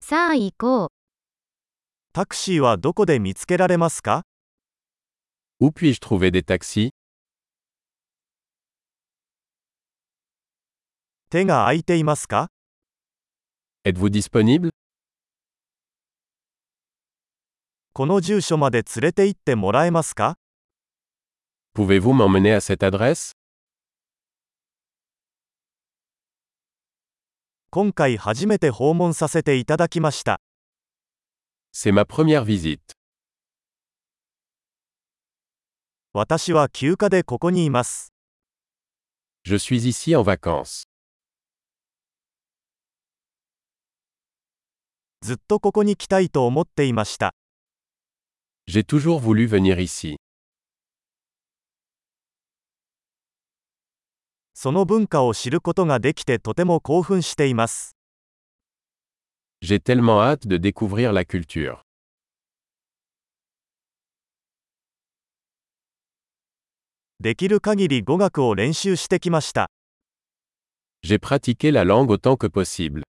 さあ行こう。 タクシーはどこで見つけられますか？ Où puis-je trouver des taxis? 手が空いていますか？ Êtes-vous disponible? この住所まで連れて行ってもらえますか？ Pouvez-vous m'emmener à cette adresse? 今回初めて訪問させていただきました。 C'est ma première visite. 私は休暇でここにいます。 Je suis ici en vacances. ずっとここに来たいと思っていました。 J'ai toujours voulu venir ici. その文化を知ることができてとても興奮しています。 J'ai tellement hâte de découvrir la culture. できる限り語学を練習してきました。 J'ai pratiqué la langue autant que possible.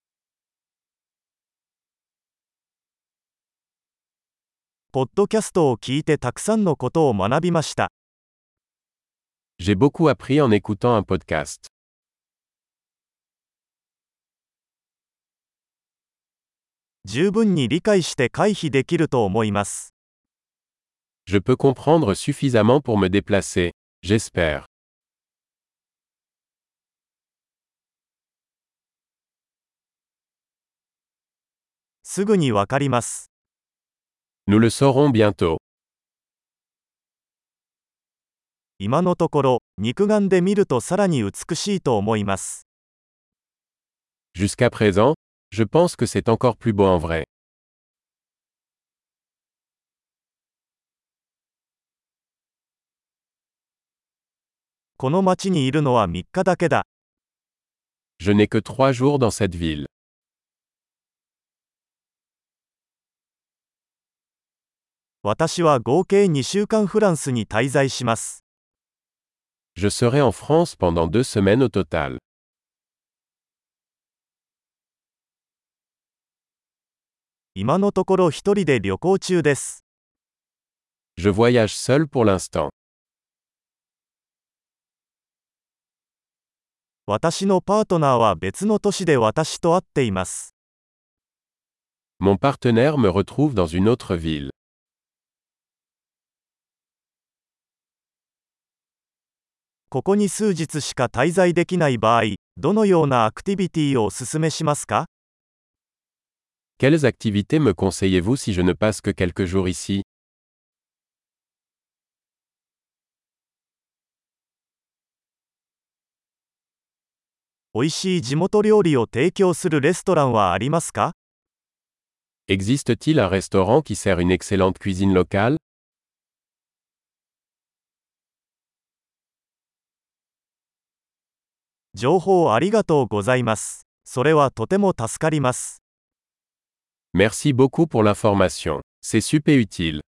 ポッドキャストを聞いてたくさんのことを学びました。 J'ai beaucoup appris en écoutant un podcast. 十分に理解して回避できると思います。 Je peux comprendre suffisamment pour me déplacer, j'espère. すぐにわかります。 Nous le saurons bientôt. 今のところ、肉眼で見るとさらに美しいと思います。 Jusqu'à présent, je pense que c'est encore plus beau en vrai. この町にいるのは3日だけだ。 Je n'ai que 3 jours dans cette ville. 私は合計2週間フランスに滞在します。 Je serai en France pendant 2 semaines au total. 今のところ一人で旅行中です。 Je voyage seul pour l'instant. 私のパートナーは別の都市で私と会っています。 Mon partenaire me retrouve dans une autre ville. ここに数日しか滞在できない場合、どのようなアクティビティをお勧めしますか？ Quelles activités me conseillez-vous si je ne passe que quelques jours ici? おいしい地元料理を提供するレストランはありますか？ Existe-t-il un restaurant qui sert une excellente cuisine locale? 情報ありがとうございます。それはとても助かります。 Merci beaucoup pour l'information. C'est super utile.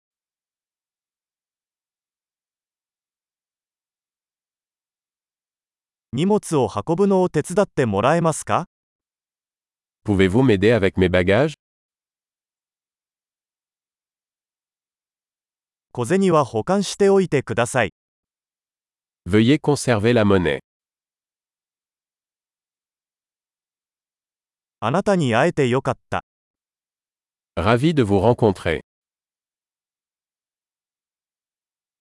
荷物を運ぶのを手伝ってもらえますか？ Pouvez-vous m'aider avec mes bagages? 小銭は保管しておいてください。 Veuillez conserver la monnaie. あなたに会えてよかった。 Ravi de vous rencontrer.